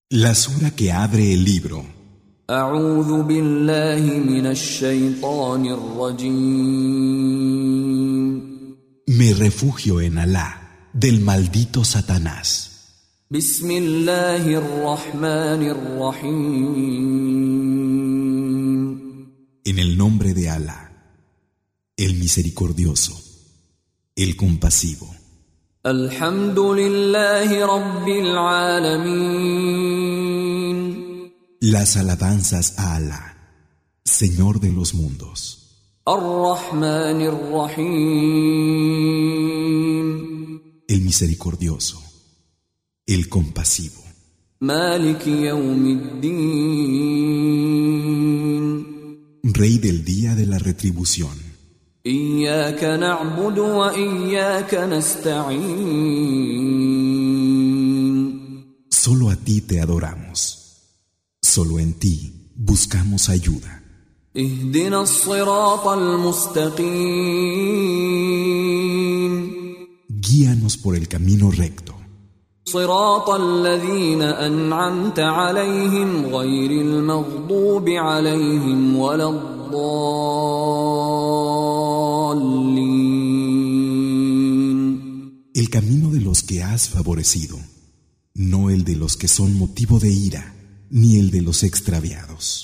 La sura que abre el libro. أعوذ بالله من الشيطان الرجيم. Me refugio en Alá, del maldito Satanás. بسم الله الرحمن الرحيم. En el nombre de Alá, el misericordioso, el compasivo. الحمد لله رب العالمين. Las alabanzas a Alá, Señor de los mundos. الرحمن الرحيم. El misericordioso, el compasivo. مالك يوم الدين. Rey del día de la retribución. إياك نعبد وإياك نستعين. Solo a ti te adoramos. Solo en ti buscamos ayuda. اهدنا الصراط المستقيم. Guíanos por el camino recto. صراط الذين أنعمت عليهم غير المغضوب عليهم ولا الضالين. El camino de los que has favorecido, no el de los que son motivo de ira, ni el de los extraviados.